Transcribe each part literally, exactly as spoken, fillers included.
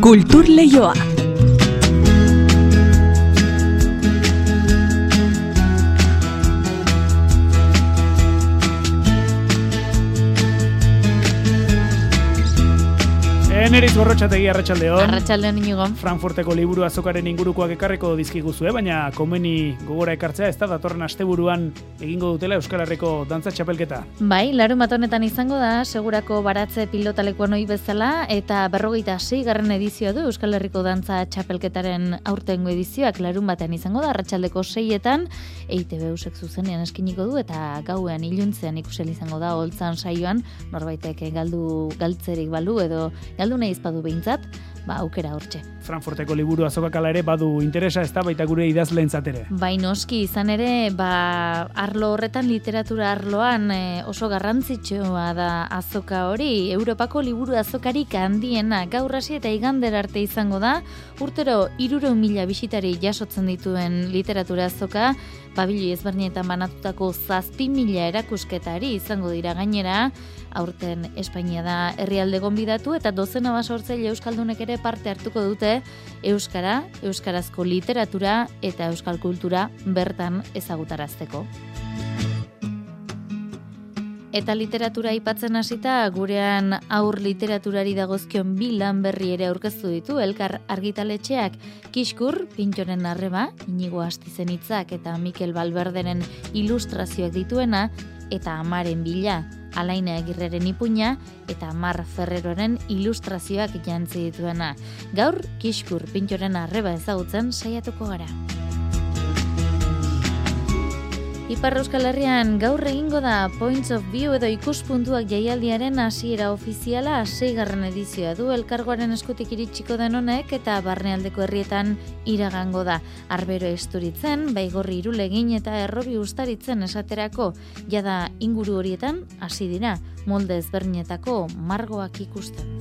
Kultur Leioa. Eneriz Gorrotxategi, arratsaldeon. Arratsaldeon Inigo. Frankfurteko liburu azokaren ingurukoak ekarriko dizkiguzue, baina komeni gogora ekartzea ez da datorren asteburuan egingo dutela Euskal Herriko dantza txapelketa. Bai, larunbat honetan izango da, segurako baratze pilotalekuan ohi bezala, eta berrogeita seigarren edizioa du Euskal Herriko dantza txapelketaren aurtengo edizioak larunbatean izango da, arratsaldeko seietan, E I Te Be Eusek zuzenean eskiniko du, eta gauean iluntzean ikusel izango da, holtzan saioan, norbaitek galdu galtzerik balu edo galdu nahi izpadu behintzat, ba, aukera hortxe. Frankfurteko liburu azokak ala ere badu interesa, ez da baita gure idazleentzat ere. Bai, noski, izan ere, ba, arlo horretan, literatura arloan e, oso garrantzitsua da azoka hori. Europako liburu azokarik handiena gaur hasi eta igander arte izango da, urtero hirurehun mila bisitari jasotzen dituen literatura azoka, pabili ezberdinetan banatutako zazpi mila erakusketari izango dira gainera, aurten Espainia da herrialde gonbidatu eta dozena basortzaile euskaldunek ere parte hartuko dute euskara, euskarazko literatura eta euskal kultura bertan ezagutarazteko. Eta literatura aipatzen hasita gurean aur literaturari dagozkion bi lan berri ere aurkeztu ditu Elkar argitaletxeak. Kiskur, Pintxoren arreba, Inigo Astizen hitzak eta Mikel Balberderen ilustrazioak dituena, eta Amaren bila, Alaina Agirreren ipuina eta Mar Ferreroren ilustrazioak jantzi dituena. Gaur, Kiskur, Pintxoren arreba ezagutzen saiatuko gara. Ipar Euskal Herrian gaur egingo da Points of View edo ikuspuntuak jaialdiaren hasiera ofiziala seigarren edizioa du elkargoaren eskutik iritsiko den honek eta barnealdeko herrietan iragango da. Arbero Esturitzen, Baigorri Irulegin eta Errobi Uztaritzen esaterako jada inguru horietan hasi dira molde ezberdinetako margoak ikusten.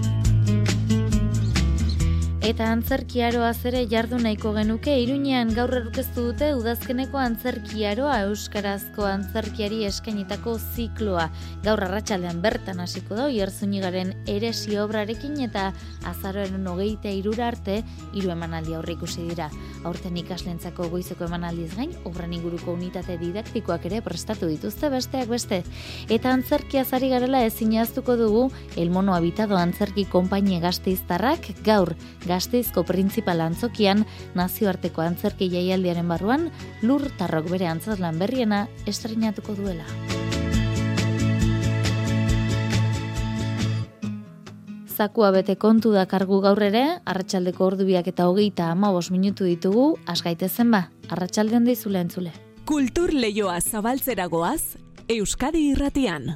Eta antzerkiaroaz ere jardu nahiko genuke, Iruñean gaur aurkeztu dute udazkeneko antzerkiaroa euskarazko antzerkiari eskainitako zikloa. Gaur arratsaldean bertan hasiko da Oiartzunigaren eresi obrarekin eta azaroaren hogeita hirura arte hiru emanaldi aurreikusi dira. Aurten ikaslentzako goizeko emanaldiz gain, obran inguruko unitate didaktikoak ere prestatu dituzte besteak beste. Eta antzerkiaz ari garela ezin ahaztuko dugu El Mono Habitado antzerki konpainia gasteiztarrak gaur Gasteizko printzipal antzokian nazioarteko antzerki jaialdiaren barruan Lur Tarrok bere antzezlan berriena estreinatuko duela. Zakua bete kontu da kargu gaur ere, arratsaldeko ordubiak eta hogeita hamabost minutu ditugu, asgaitezen ba, arratsalde on deizula entzule. Kultur Leioa zabaltzera goaz, Euskadi Irratian.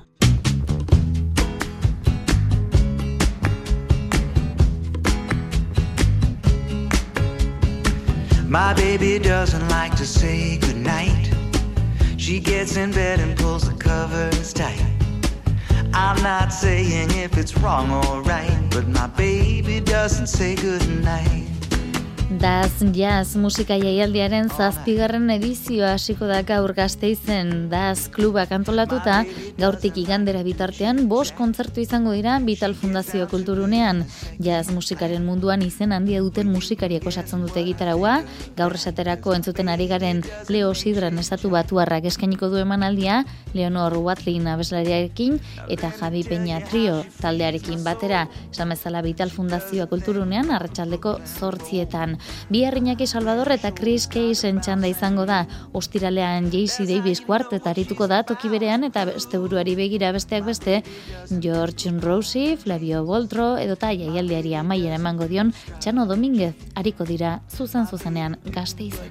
My baby doesn't like to say goodnight. She gets in bed and pulls the covers tight. I'm not saying if it's wrong or right, but my baby doesn't say goodnight. Daz Jazz musika jaialdiaren zazpigarren edizioa hasiko da gaur Gasteizen. Daz klubak antolatuta, gaurtik igandera bitartean bost kontzertu izango dira Vital Fundazio Kulturunean. Jazz musikaren munduan izen handia duten musikariek osatzen dute gitaraua, gaur esaterako entzuten ari garen Leo Sidran estatu batuarrak eskainiko du emanaldia, Leonor Watlin abeslariarekin eta Javi Peña Trio taldearekin batera, esan bezala Vital Fundazioa Kulturunean arratsaldeko zortzietan. Bihar Iñaki Salvador eta Chris Casen txanda izango da. Ostiralean J C Davis kuartet arituko da toki berean eta beste buruari begira besteak beste George Rosie, Flavio Boltro edota jaialdiari amaiera emango dion Txano Dominguez ariko dira zuzen zuzenean Gasteizen.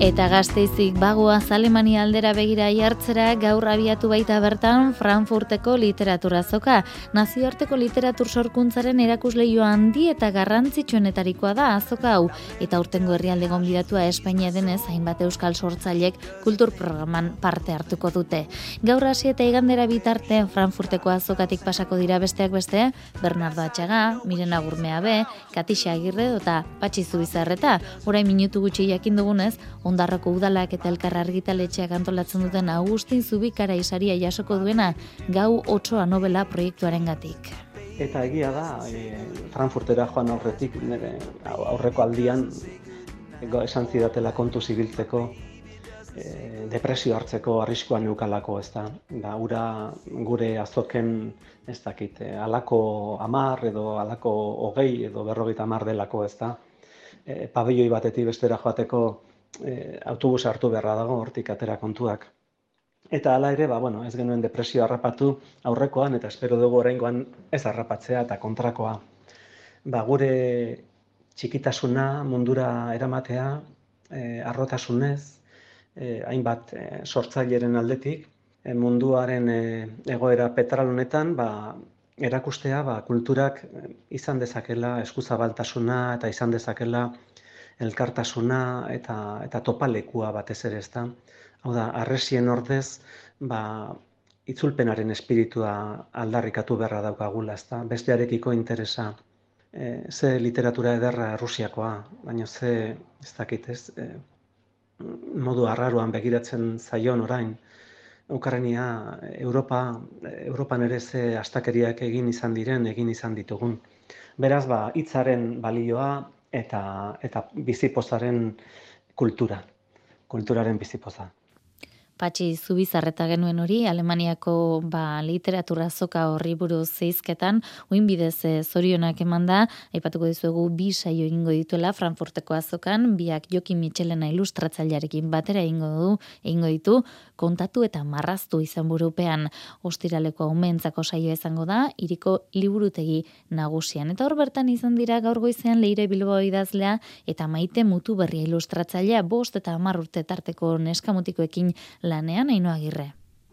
Eta Gasteizik bagoaz Alemania aldera begira jartzera gaur abiatu baita bertan Frankfurteko literatura azoka. Nazioarteko literatur sorkuntzaren erakusleiho handi eta garrantzitsuenetarikoa da azoka hau. Eta urtengo herrialde gonbidatua Espainia denez hainbat euskal sortzailek kultur programan parte hartuko dute. Gaur hasi eta igandera bitarte Frankfurteko azokatik pasako dira besteak beste Bernardo Atxaga, Miren Agurmeabe, Katixa Agirre eta Patxi Zubizarreta. Orain minutu gutxi jakin dugunez, Ondarroko udalak eta elkar argitaletxeak antolatzen duten Agustin Zubikara isaria jasoko duena Gau Otsoa novela proiektuarengatik. Eta egia da, e, Frankfurtera joan aurretik, nire aurreko aldian esan zidatela kontu zibiltzeko, e, depresio hartzeko arriskoan neukalako, ez da. Da, ura gure azoken, ez dakit, alako amar edo alako hogei edo berrogeita amar delako, ez da. E, pabelloi batetik bestera joateko E, autobus hartu beharra dago hortik atera kontuak. Eta hala ere, ba, bueno, ez genuen depresio harrapatu aurrekoan, eta espero dugu oraingoan ez harrapatzea eta kontrakoa. Ba, gure txikitasuna mundura eramatea, e, arrotasunez, e, hainbat e, sortzaileren aldetik, e, munduaren e, egoera petral honetan, ba, erakustea ba, kulturak izan dezakela eskuzabaltasuna eta izan dezakela elkartasuna eta, eta topalekua batez ere, ezta. Hau da, harresien ordez, ba, itzulpenaren espiritua aldarrikatu beharra daukagula, ezta. Bestearekiko interesa, e, ze literatura ederra Rusiakoa, baina ze, ez dakit ez, e, modu arraruan begiratzen zaion orain, Ukraina, Europa, Europan ere ze astakeriak egin izan diren, egin izan ditugun. Beraz, ba, hitzaren balioa, eta eta bizipozaren kultura, kulturaren bizipoza. Patxi Zubizarreta genuen hori, Alemaniako ba, literatura azoka horri buruz zeizketan, uin bidez e, zorionak eman da, aipatuko dizuegu bi saio egingo dituela Frankfurteko azokan, biak Jokin Mitxelena ilustratzailearekin batera egingo du, egingo ditu, kontatu eta marraztu izan burupean. Ostiraleko umentzako saioa izango da, hiriko liburutegi nagusian. Eta hor bertan izan dira gaur goizean Leire Bilbao idazlea eta Maite Mutuberria ilustratzailea bost eta hamar urte tarteko neskamutikoekin lanean Ainhoa Agirre.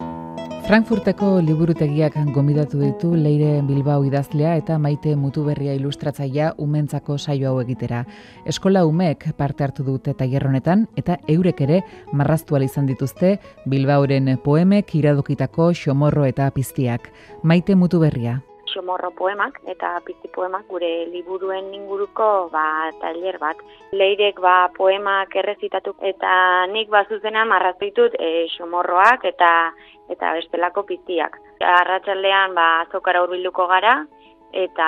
Frankfurteko liburutegiak gonbidatu ditu Leire Bilbao idazlea eta Maite Mutuberria ilustratzailea umentzako saio hau egitera. Eskola umeek parte hartu dute tailer honetan eta eurek ere marraztu ahal izan dituzte Bilbaoren poemek iradokitako xomorro eta piztiak. Maite Mutuberria. Xomorro poemak eta pizti poemak gure liburuen inguruko ba, tailer bat. Leirek ba, poemak errezitatu eta nik ba, zuzena marraztu ditut e, xomorroak eta eta bestelako piztiak. Arratsaldean ba, azokara hurbilduko gara eta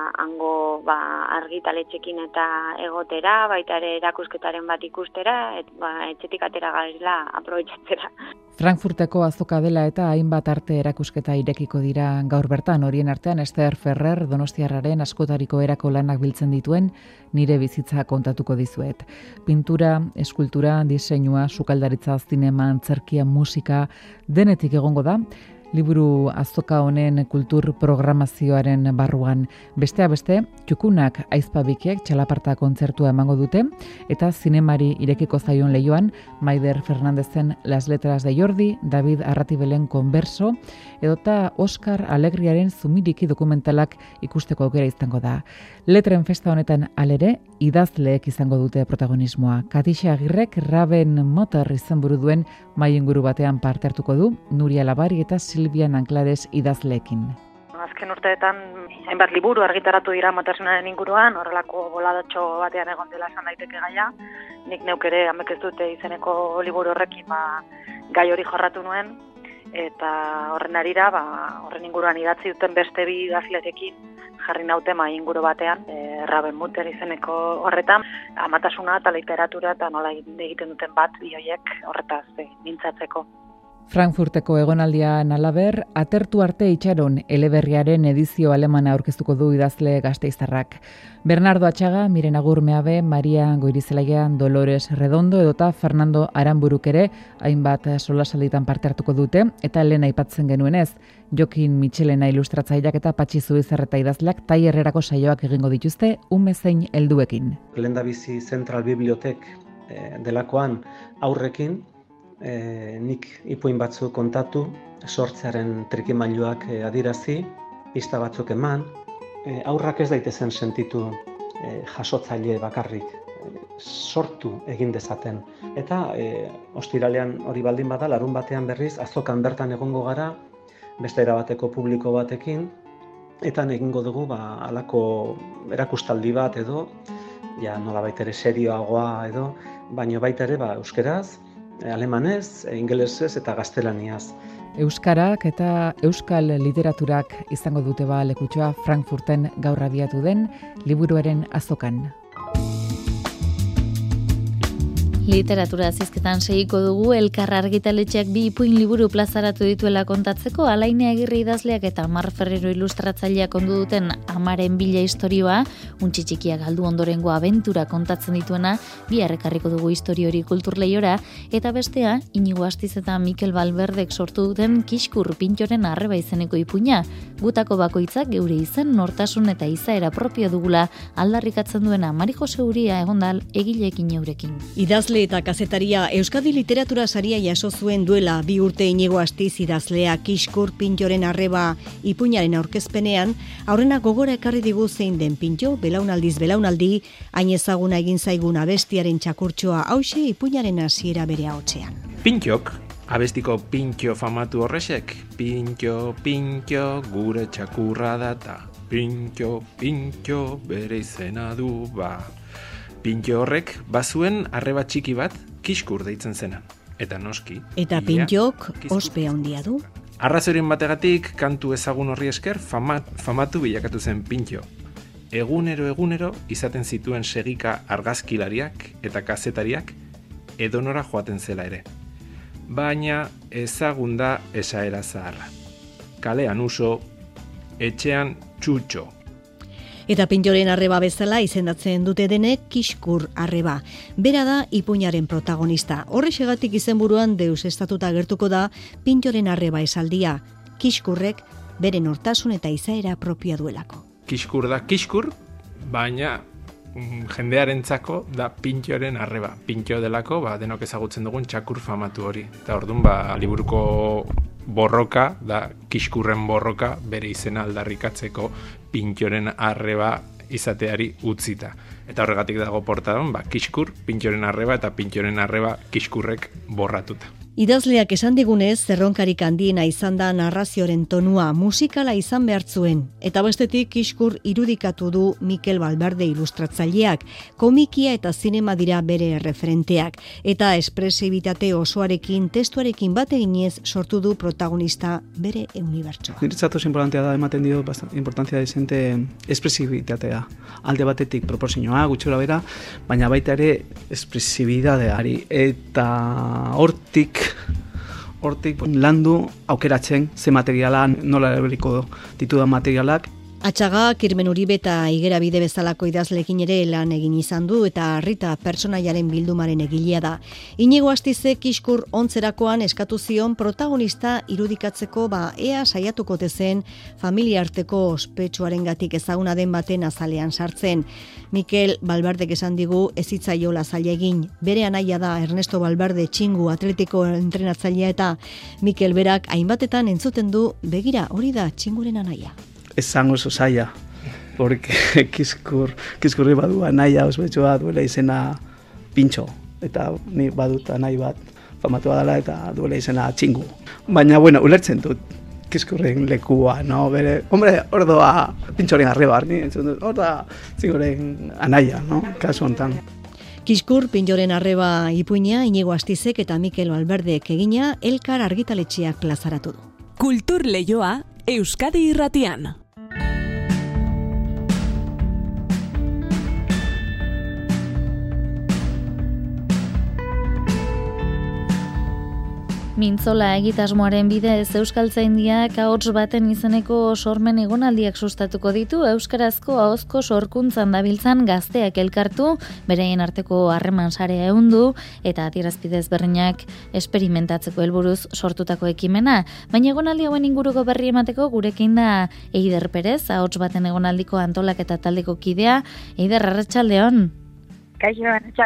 hango ba, argitaletxekin eta egotera, baita ere erakusketaren bat ikustera, et, ba, etxetik atera garela aprobetxatzera. Frankfurteko azoka dela eta hainbat arte erakusketa irekiko dira gaur bertan, horien artean Esther Ferrer Donostiarraren askotariko erako lanak biltzen dituen nire bizitza kontatuko dizuet. Pintura, eskultura, diseinua, sukaldaritza, zinema, antzerkia, musika, denetik egongo da, liburu azoka honen kultur programazioaren barruan. Bestea beste, Txukunak aizpabikiek txalaparta kontzertua emango dute, eta zinemari irekiko zaion lehioan, Maider Fernandezen Las Letras de Jordi, David Arratibelen Converso, edota Oscar Alegriaren Zumiriki dokumentalak ikusteko aukera izango da. Letren festa honetan alere, idazleek izango dute protagonismoa. Katixa Agirrek Raven Motor izenburu duen mai inguru batean parte hartuko du, Nuria Labari eta Silvia Nanclares idazleekin. Azken urteetan, hainbat liburu argitaratu dira matersinaren inguruan, horrelako boladatxo batean egon dela esan daiteke gaia. Nik neuk ere amek ez dute izeneko liburu horrekin ba, gai hori jorratu nuen, eta horren arira, ba, horren inguruan idatzi duten beste bi idazlerekin jarri naute mai inguru batean, e, Raven Mutter izeneko horretan, amatasuna eta literatura eta nola egiten duten bat bioiek horretaz e, mintzatzeko. Frankfurteko egonaldian alaber, atertu arte itxaron eleberriaren edizio alemana aurkeztuko du idazle gasteiztarrak. Bernardo Atxaga, Miren Agurmeabe, Maria Goirizelaia, Dolores Redondo edota Fernando Aranburuk ere hainbat solasalditan parte hartuko dute, eta lehen aipatzen genuenez, Jokin Mitxelena ilustratzaileak eta Patxi Zubizarreta idazleak tailerrerako saioak egingo dituzte ume zein helduekin. Lehendabizi Central Bibliotek e, delakoan aurrekin, e, nik ipuin batzuk kontatu, sortzearen trikimailuak e, adirazi, pista batzuk eman, e, aurrak ez daitezen sentitu e, jasotzaile bakarrik, sortu egin dezaten. Eta e, ostiralean hori baldin bada, larun batean berriz, azokan bertan egongo gara, beste erabateko publiko batekin, eta egingo dugu ba, alako erakustaldi bat edo, ja nolabait ere serioagoa edo, baina baita ere ba, euskeraz, alemanez, ingelesez eta gaztelaniaz. Euskarak eta euskal literaturak izango dute ba lekutxoa Frankfurten gaur abiatu den liburuaren azokan. Literatura zizketan segiko dugu Elkar argitaletxeak bi ipuin liburu plazaratu dituela kontatzeko, Alaine Agirre idazleak eta Mar Ferrero ilustratzaileak ondu duten Amaren bila istorioa, untxi txikiak galdu ondorengo abentura kontatzen dituena, bi errekarriko dugu istorio hori kulturleiora, eta bestea, Inigo Astiz eta Mikel Balberdek sortu duten Kiskur Pintxoren arreba izeneko ipuina, gutako bakoitzak geure izen, nortasun eta izaera propio dugula aldarrikatzen duena Mari Jose Uria egondal egileekin eurekin. Idazle eta kazetaria Euskadi Literatura Saria jaso zuen duela bi urte Inigo Astiz idazlea Kiskur Pintxoren arreba ipuinaren aurkezpenean, aurrena gogora ekarri digu zein den pintxo, belaunaldiz belaunaldi, hain ezaguna egin zaigun abestiaren txakurtxoa hauxe ipuinaren hasiera bere ahotsean. Pintxok, abestiko pintxo famatu horrexek, pintxo, pintxo, gure txakurra data, pintxo, pintxo, bere izena du ba. Pintxo horrek bazuen arreba txiki bat Kiskur deitzen zena. Eta noski. Eta pintxok ospe handia du. Arrazoren bategatik kantu ezagun horri esker famat, famatu bilakatu zen Pintxo. Egunero egunero izaten zituen segika argazkilariak eta kazetariak edonora joaten zela ere. Baina ezagun da esaera zaharra. Kalean uso, etxean txutxo. Eta Pintxoren arreba bezala izendatzen dute denek Kiskur arreba. Bera da ipuinaren protagonista. Horrexegatik izenburuan deus estatuta gertuko da Pintxoren arreba esaldia. Kiskurrek bere nortasun eta izaera propioa duelako. Kiskur da Kiskur, baina jendearentzako da Pintxoren arreba. Pintxo delako, ba, denok ezagutzen dugun txakur famatu hori. Eta orduan, ba, liburuko borroka, da Kiskurren borroka, bere izena aldarrikatzeko Pintxoren arreba izateari utzita. Eta horregatik dago portadan, ba, Kiskur, Pintxoren arreba eta Pintxoren arreba Kiskurrek borratuta. Idazleak esan digunez, zerronkarik handiena izan da narrazioaren tonua musikala izan behar zuen. Eta bestetik Kiskur irudikatu du Mikel Balberde ilustratzaileak, komikia eta zinema dira bere referenteak. Eta espresibitate osoarekin, testuarekin bat eginez sortu du protagonista bere unibertsoa. Niretzat oso importantea da, ematen dio importantzia desente espresibitatea. Alde batetik proporzioa, gutxora bera, baina baita ere espresibitateari. Eta hortik Hortik landu aukeratzen ze materialan nola erabiliko ditudan materialak. Atxaga, Kirmen Uribe eta Igera Bide bezalako idazlekin ere lan egin izan du eta Rita pertsonaiaren bildumaren egilea da. Inigo Astizek Kiskur ontzerakoan eskatu zion protagonista irudikatzeko ba ea saiatuko tezen familia arteko ospetsuarengatik ezaguna den baten azalean sartzen. Mikel Balberdek esan digu ez hitzaiola zaila egin. Bere anaia da Ernesto Balberde txingu atletiko entrenatzailea eta Mikel berak hainbatetan entzuten du begira hori da txinguren anaia. Esango oso zaila, porque Kiskur, Kiskurri badu anaia ospetsua duela izena Pintxo, eta ni badut anai bat famatua dela eta duela izena txingu. Baina, bueno, ulertzen dut Kiskurren lekua, no? Bere, hombre, hor doa Pintxoren arreba, ni entzun dut, hor da txinguren anaia, no? Kasu hontan. Kiskur Pintxoren arreba ipuina Inigo Astizek eta Mikel Balberdek egina Elkar argitaletxeak plazaratu du. Kultur Leioa Euskadi Irratian. Mintzola egitasmoaren bidez Euskaltzaindiak ahots baten izeneko sormen egonaldiak sustatuko ditu euskarazko ahozko sorkuntzan dabiltzan gazteak elkartu, beraien arteko harreman sarea ehundu eta adierazpide ezberdinak esperimentatzeko helburuz sortutako ekimena. Baina egonaldi hauen inguruko berri emateko gurekin da Eider Perez, ahots baten egonaldiko antolaketa taldeko kidea. Eider, arratsaldeon. Kaixo, arratsaldeon.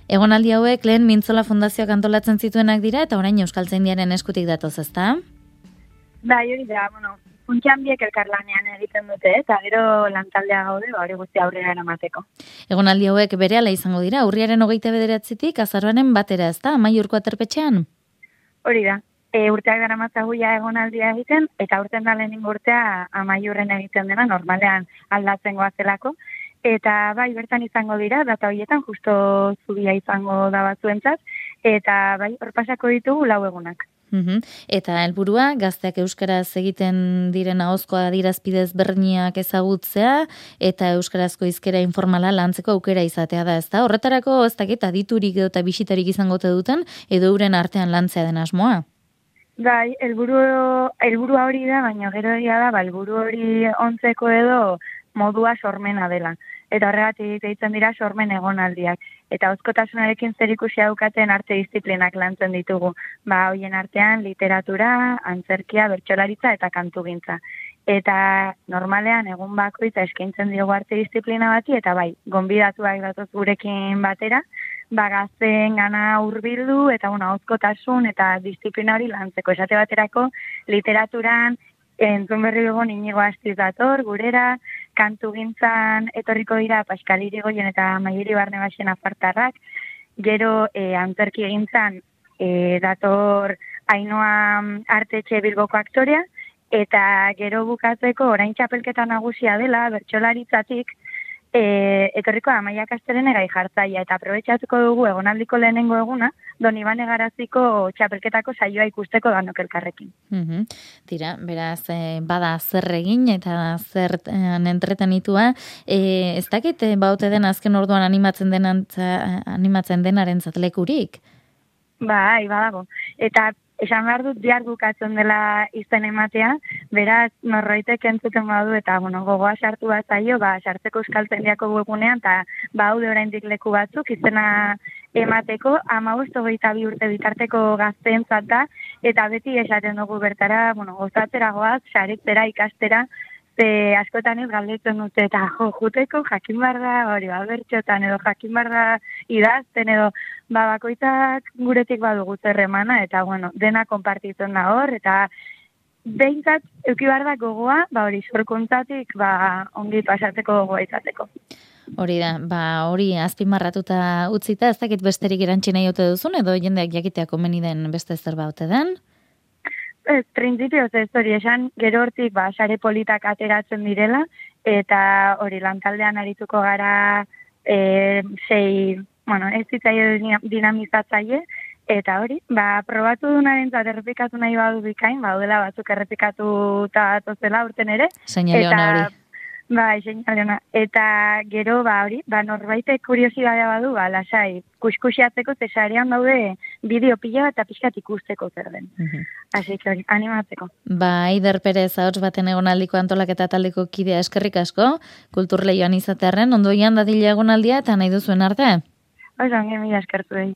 Egonaldi hauek lehen Mintzola Fundazioak antolatzen zituenak dira eta orain Euskaltzaindiaren eskutik datoz, ezta? Bai, hori da, bueno, funtsan biek elkarlanean egiten dute, eta gero lantaldea gaude, hori guzti aurrera eramateko. Egonaldi hauek berehala izango dira, urriaren hogeita bederatzitik azaroaren batera, ezta, Amaiurko aterpetxean? Hori da, e, urteak dara matzaguia egonaldia egiten, eta urten da lehenengo urtea Amaiurren egiten dena, normalean aldatzen goazelako, eta bai, bertan izango dira, data horietan justo zubia izango da batzuentzat, eta bai, horpasako ditugu lau egunak. Uhum. Eta helburua gazteak euskaraz egiten diren ahozko adierazpidez berniak ezagutzea eta euskarazko hizkera informala lantzeko aukera izatea da, ezta? Horretarako ez dakit aditurik edo eta bisitarik izango te duten edo euren artean lantzea den asmoa. Bai, helburu helburua hori da, baina gero egia da, ba helburu hori ontzeko edo modua sormena dela. Eta horregatik deitzen dira sormen egonaldiak. Eta ahozkotasunarekin zerikusia daukaten arte disiplinak lantzen ditugu. Ba, hoien artean literatura, antzerkia, bertsolaritza eta kantugintza. Eta normalean egun bakoitza eskaintzen diogu arte disiplina bati, eta bai, gonbidatuak datoz gurekin batera, ba, gazteen gana hurbildu eta bueno, ahozkotasun eta disiplina hori lantzeko. Esate baterako literaturan entzun berri dugu Inigo Astiz dator, gurera, kantugintzan etorriko dira Pascal Irigoyen eta Maieri Barnebasen apartarrak, gero e, antzerki egintzan e, dator Ainhoa Artetxe Bilboko aktorea, eta gero bukatzeko orain txapelketa nagusia dela, bertsolaritzatik, e, etorriko Amaia Kastelene gai jartzaia, eta aprobetxatuko dugu egonaldiko lehenengo eguna, Don Ibane Garaziko txapelketako saioa ikusteko danok elkarrekin. Uhum. Tira, beraz, eh, bada zer egin eta zer eh, entretenitua. Eh, ez dakit, eh, baute den azken orduan animatzen denantza, animatzen denaren zatlekurik? Bai, badago. Eta esan behar dut bihar bukatzen dela izen ematea, beraz norroitek entzuten badu eta bueno, gogoa sartu bat zaio, ba, sartzeko Euskaltzaindiako webunean, eta baude oraindik leku batzuk izena emateko, hamabost hogeita bi urte bitarteko gazteentzat da, eta beti esaten dugu bertara, bueno, gozatzera goaz, saritzera, ikastera, ze askotan ez galdetzen dute, eta jo, juteko jakin behar da, hori, ba, bertxotan edo jakin behar da idazten edo, ba, bakoitzak guretik badugu zerremana, eta bueno, dena konpartitzen da hor, eta behintzat, euki behar da gogoa, ba, hori, sorkuntzatik, ba, ongi pasatzeko gogoa izateko. Hori da, ba, hori azpimarratuta utzita, ez dakit besterik erantzi nahi ote duzun, edo jendeak jakitea komeni den beste zerba ote den? Ez, printzipioz ez hori esan, gero hortik, ba, sare politak ateratzen direla, eta hori lantaldean arituko gara e, sei, bueno, ez zitzaile dinamizatzaile, eta hori, ba, probatu dunaren zat errepikatu nahi badu bikain, ba, dela batzuk errepikatu eta atozela urten ere. Seinale hona hori. Bai, seinale eta gero, ba, hori, ba, norbaitek kuriosidadea badu, ba, lasai, kuskusiatzeko zesarean daude bideo pila eta pixkat ikusteko zer den. Uh-huh. Así que hori, animatzeko. Ba, Aider Perez ahots baten egonaldiko antolaketa taldeko kidea eskerrik asko, kulturleioan izatearren, ondoian dadila egonaldia eta nahi duzuen arte? Oso, onge mila eskertu behi.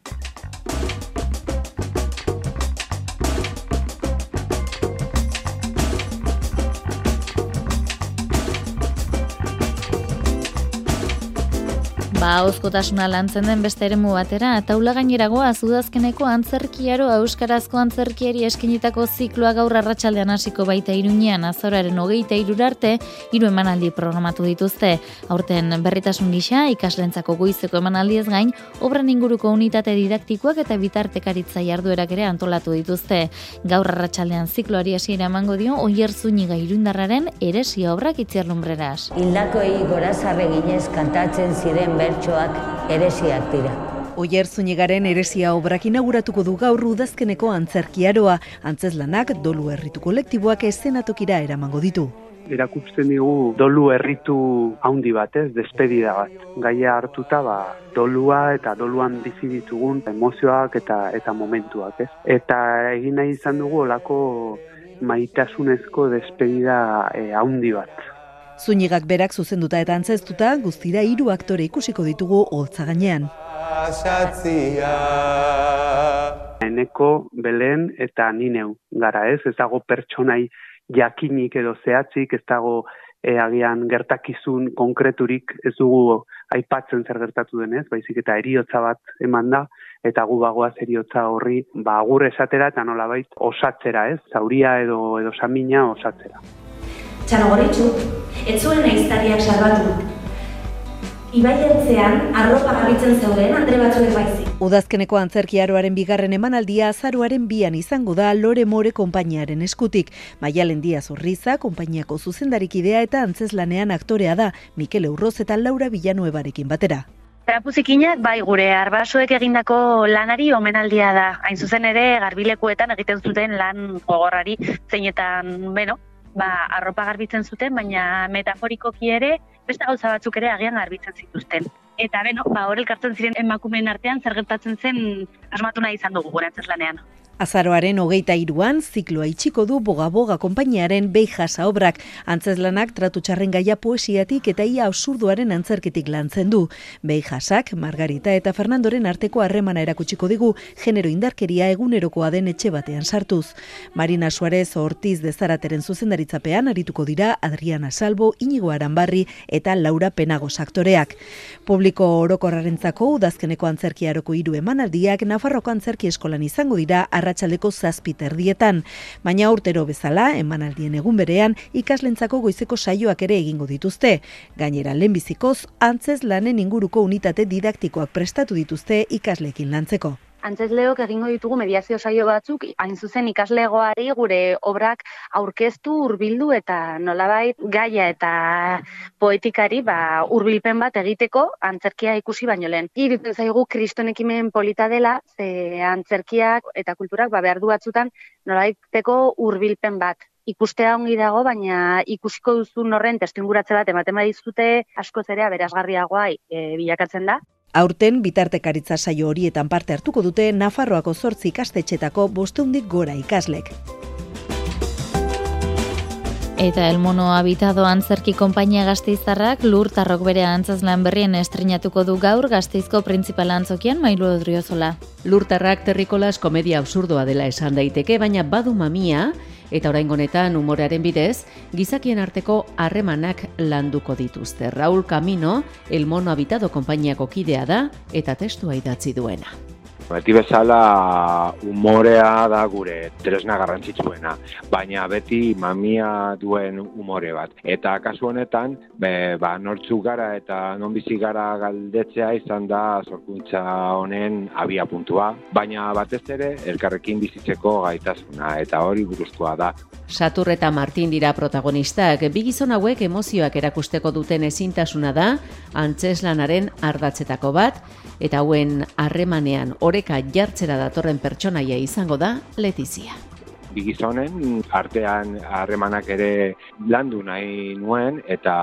Ba, ahozkotasuna lantzen den beste eremu batera, taula gaineragoa udazkeneko antzerkiaro euskarazko antzerkiari eskenitako zikloa gaur arratsaldean hasiko baita Iruñean azaroaren hogeita hirura arte hiru emanaldi programatu dituzte. Aurten berritasun gisa ikaslentzako goizeko emanaldiez gain, obran inguruko unitate didaktikoak eta bitartekaritza jarduerak ere antolatu dituzte. Gaur arratsaldean zikloari hasiera emango dio Oier Zúñiga irundarraren Heresia obrak Itziar Lumbreras. Hildakoei gorazarre ginez kantatzen ziren bertsoak heresiak dira. Oier Zúñigaren Heresia obrak inauguratuko du gaur udazkeneko antzerkiaroa, antzezlanak dolu herritu kolektiboak eszenatokira eramango ditu. Erakusten digu dolu herritu handi bat, ez, despedida bat. Gaia hartuta, ba, dolua eta doluan bizi ditugun emozioak eta eta momentuak, ez. Eta egin nahi izan dugu olako maitasunezko despedida eh, handi bat. Zúñigak berak zuzenduta eta antzeztuta, guztira hiru aktore ikusiko ditugu holtza gainean. Eneko, Belen eta Nineu gara, ez? Ez dago pertsonai jakinik edo zehatzik, ez dago e, agian gertakizun konkreturik ez dugu aipatzen zer gertatu denez, baizik eta heriotza bat eman da, eta gu bagoaz heriotza horri ba, agur esatera eta nolabait osatzera, ez? Zauria edo, edo samina osatzera. Txanogoritxu, ez zuen aiztariak salbatu. Ibaiertzean, arropa garbitzen zeuden andre batzuek baizik. Udazkeneko antzerkiaroaren bigarren emanaldia azaroaren bian izango da Lore More konpainiaren eskutik. Maialen Diaz Urriza, konpainiako zuzendarikidea eta antzeslanean aktorea da, Mikel Eurroz eta Laura Villanuevarekin batera. Trapuzikinak, bai, gure arbasoek egindako lanari omenaldia da. Hain zuzen ere, garbilekuetan egiten zuten lan gogorrari, zeinetan, beno, ba, arropa garbitzen zuten, baina metaforikoki ere, beste gauza batzuk ere agian garbitzen zituzten. Eta beno, ba, hor elkartzen ziren emakumeen artean zer gertatzen zen asmatu nahi izan dugu gure antzezlanean. Azaroaren hogeita hiruan zikloa itxiko du Boga-Boga konpainiaren Beijasa obrak. Antzeslanak tratu txarren gaia poesiatik eta ia absurduaren antzerketik lantzen du. Beijasak, Margarita eta Fernandoren arteko harremana erakutsiko digu genero indarkeria egunerokoa den etxe batean sartuz. Marina Suarez Ortiz de Zarateren zuzendaritzapean arituko dira Adriana Salbo, Inigo Aranbarri eta Laura Penagos aktoreak. Publiko orokorrarentzako udazkeneko antzerkiaroko hiru emanaldiak Nafarroko Antzerki Eskolan izango dira arratsaldeko zazpi terdietan, baina urtero bezala, emanaldien egun berean, ikaslentzako goizeko saioak ere egingo dituzte. Gainera, lehenbizikoz, antzeslanen inguruko unitate didaktikoak prestatu dituzte ikasleekin lantzeko. Antzezleok egingo ditugu mediazio saio batzuk, hain zuzen ikaslegoari gure obrak aurkeztu, hurbildu eta nolabait gaia eta poetikari ba, hurbilpen bat egiteko antzerkia ikusi baino lehen. Iruditzen zaigu kriston ekimen polita dela, ze antzerkiak eta kulturak ba, behar du batzutan nolabaiteko hurbilpen bat. Ikustea ongi dago, baina ikusiko duzun horren testuinguratze bat ematen badizute askoz ere aberasgarriagoa e, bilakatzen da. Aurten bitartekaritza saio horietan parte hartuko dute Nafarroako zortzi ikastetxetako bosteundik gora ikaslek. Eta El Mono Habitado antzerki konpainia Gasteiztarrak Lurtarrok bere antzezlan berrien estrenatuko du gaur Gasteizko printzipala antzokian Mailu Odriozola. Lurtarrak terrikolas komedia absurdoa dela esan daiteke, baina badu mamia, eta oraingo honetan umorearen bidez, gizakien arteko harremanak landuko dituzte. Raúl Camino, El Mono Habitado konpainiako kidea da, eta testua idatzi duena. Beti bezala umorea da gure tresna garrantzitsuena, baina beti mamia duen umore bat. Eta kasu honetan, be, ba, nortzuk gara eta non bizi gara galdetzea izan da sorkuntza honen abia puntua, baina batez ere elkarrekin bizitzeko gaitasuna eta hori buruzkoa da. Satur eta Martin dira protagonistak, bi gizon hauek emozioak erakusteko duten ezintasuna da, antzeslanaren ardatzetako bat, eta hauen harremanean oreka jartzera datorren pertsonaia izango da Letizia. Bi gizonen artean harremanak ere landu nahi nuen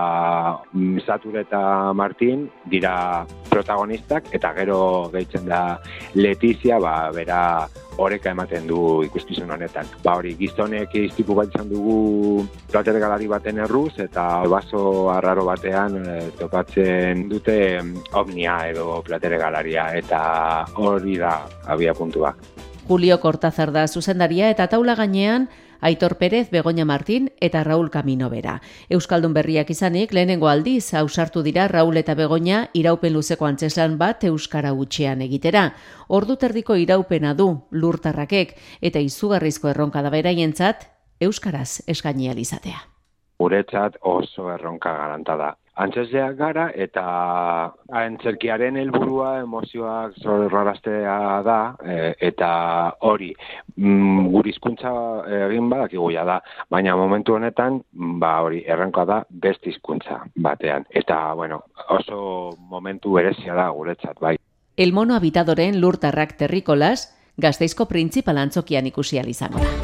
eta Satur eta Martin dira protagonistak eta gero gehitzen da Letizia, ba, bera oreka ematen du ikuskizun honetan. Ba hori, gizonek istripu bat izan dugu plater galari baten erruz eta baso arraro batean e, topatzen dute ovnia edo plater galaria eta hori da abia puntua. Julio Cortázar da zuzendaria eta taula gainean Aitor Pérez, Begoña Martín eta Raúl Camino bera. Euskaldun berriak izanik lehenengo aldiz ausartu dira Raúl eta Begoña iraupen luzeko antzeslan bat euskara hutsean egitera. Ordu terdiko iraupena du Lurtarrakek eta izugarrizko erronka da beraientzat euskaraz eskaini ahal izatea. Guretzat oso erronka garanta da. Antzesleak gara eta antzerkiaren helburua emozioak sorraraztea da e, eta hori mm, gure hizkuntza egin badakigu ja da, baina momentu honetan ba hori erronka da beste hizkuntza batean eta bueno, oso momentu berezia da guretzat bai. El Mono Habitadoren Lurtarrak terrikolas Gasteizko printzipal antzokian ikusi ahal izango da.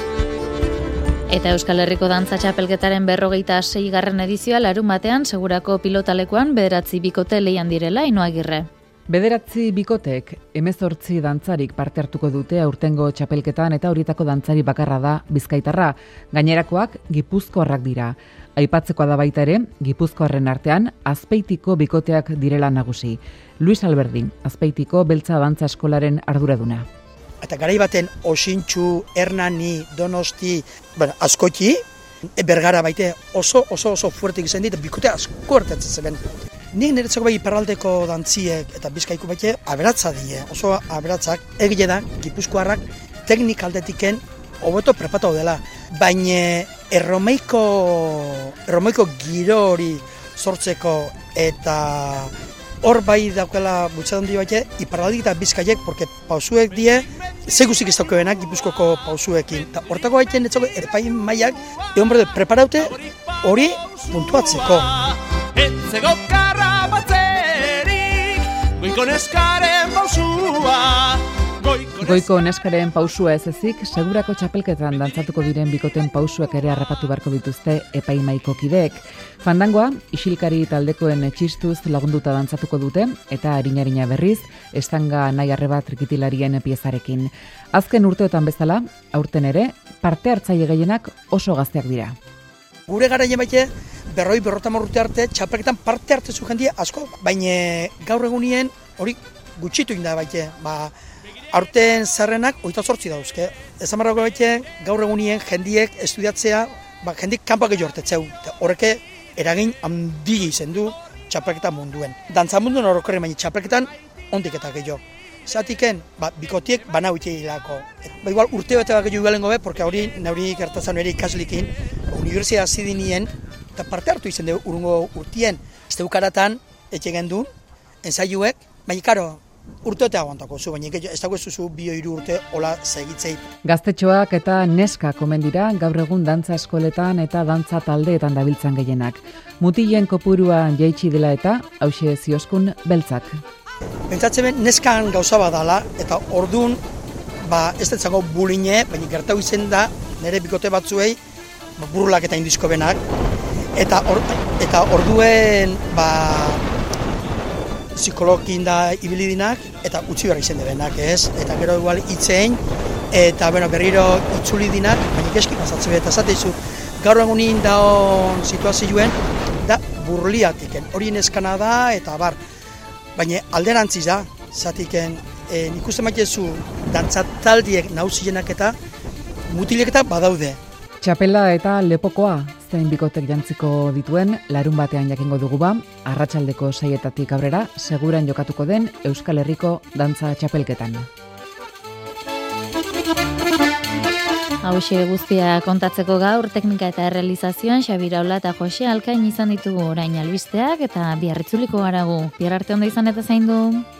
Eta Euskal Herriko Dantza Txapelketaren berrogeita seigarren edizioa larun batean segurako pilotalekuan bederatzi bikote leian direla Ainhoa Agirre. Bederatzi bikotek hemezortzi dantzarik parte hartuko dute aurtengo txapelketan eta horietako dantzari bakarra da Bizkaitarra. Gainerakoak Gipuzkoarrak dira. Aipatzekoa da baita ere, Gipuzkoarren artean Azpeitiko bikoteak direla nagusi. Luis Alberdin, Azpeitiko Beltza Dantza Eskolaren arduraduna. Eta garai baten Osintxu, Hernani, Donosti, bueno, askoti, E, bergara baite oso oso oso fuertek izan dit, bikote asko hartatzen zeben. Nik niretzako bai iparraldeko dantziek eta bizkaiko baite aberatza die, oso aberatzak, egile da, gipuzkoarrak teknik aldetiken hobeto prepatau dela, baina erromeiko, erromeiko giro hori sortzeko eta hor bai daukela bultzat handi baite, iparraldik eta bizkaiek, porque pausuek die, zeguzik ez daukebenak gipuzkoko pausuekin. Eta hortako baiten etzako epain maiak, egon berde preparaute hori puntuatzeko. Etzego karra batzerik, goiko neskaren pausua. Goiko neskaren pausua ez ezik, segurako txapelketan dantzatuko diren bikoten pausuak ere harrapatu beharko dituzte epaimaiko kideek. Fandangoa, isilkari taldekoen etxistuz lagunduta dantzatuko dute, eta harina-harina berriz, estanga nahi arreba trikitilarien piezarekin. Azken urteotan bezala, aurten ere, parte hartzaile gehienak oso gazteak dira. Gure garaien baite, berroi berrotamar urte arte, txapelketan parte hartzezu jendia asko, baina gaur egunien hori gutxitu inda baite, ba, aurten zerrenak oita zortzi dauzke. Ezan barrako baite, gaur egunien jendiek estudiatzea, ba, jendik kanpak gehiago hartetzeu. Horreke eragin handi izen du txapelketan munduen. Dantza munduen horrekorri, baina txapelketan ondik eta gehiago. Zatiken, ba, bikotiek bana huite hilako. Ba, igual urte bete bat gehiago galengo be, porque hori nauri gertazan ere ikaslikin, universia zidinien, eta parte hartu izen dugu urungo urtien. Ez dugu karatan, etxegen du, ensaiuek, baina karo, urte eta aguantako zu, baina ez dago zuzu bio hiru urte hola segitzei. Gaztetxoak eta neska komen dira gaur egun dantza eskoletan eta dantza taldeetan dabiltzan gehienak. Mutilen kopurua jaitsi dela eta hauxe zioskun beltzak. Pentsatzen ben neskan gauza badala eta ordun ba ez detzako buline, baina gertau izen da nire bikote batzuei ba, burulak eta indizko benak eta or, eta orduen ba psikologin da ibili dinak eta utzi behar izen debenak, ez? Eta gero igual itzein eta bueno, berriro itzuli dinak, baina keski pasatzen eta zateizu gaur egunin daon situazioen da burliatiken. Hori neskana da eta bar. Baina alderantziz da, zatiken e, nik uste maitezu dantzataldiek nauzienak eta mutilek eta badaude. Txapela eta lepokoa zein bikotek jantziko dituen larun batean jakingo dugu ba, arratsaldeko saietatik aurrera seguran jokatuko den Euskal Herriko dantza txapelketan. Hauxe guztia kontatzeko gaur teknika eta errealizazioan Xabi Iraola eta Jose Alkain izan ditugu orain albisteak eta biarritzuliko garagu. Bihar arte ondo izan eta zaindu.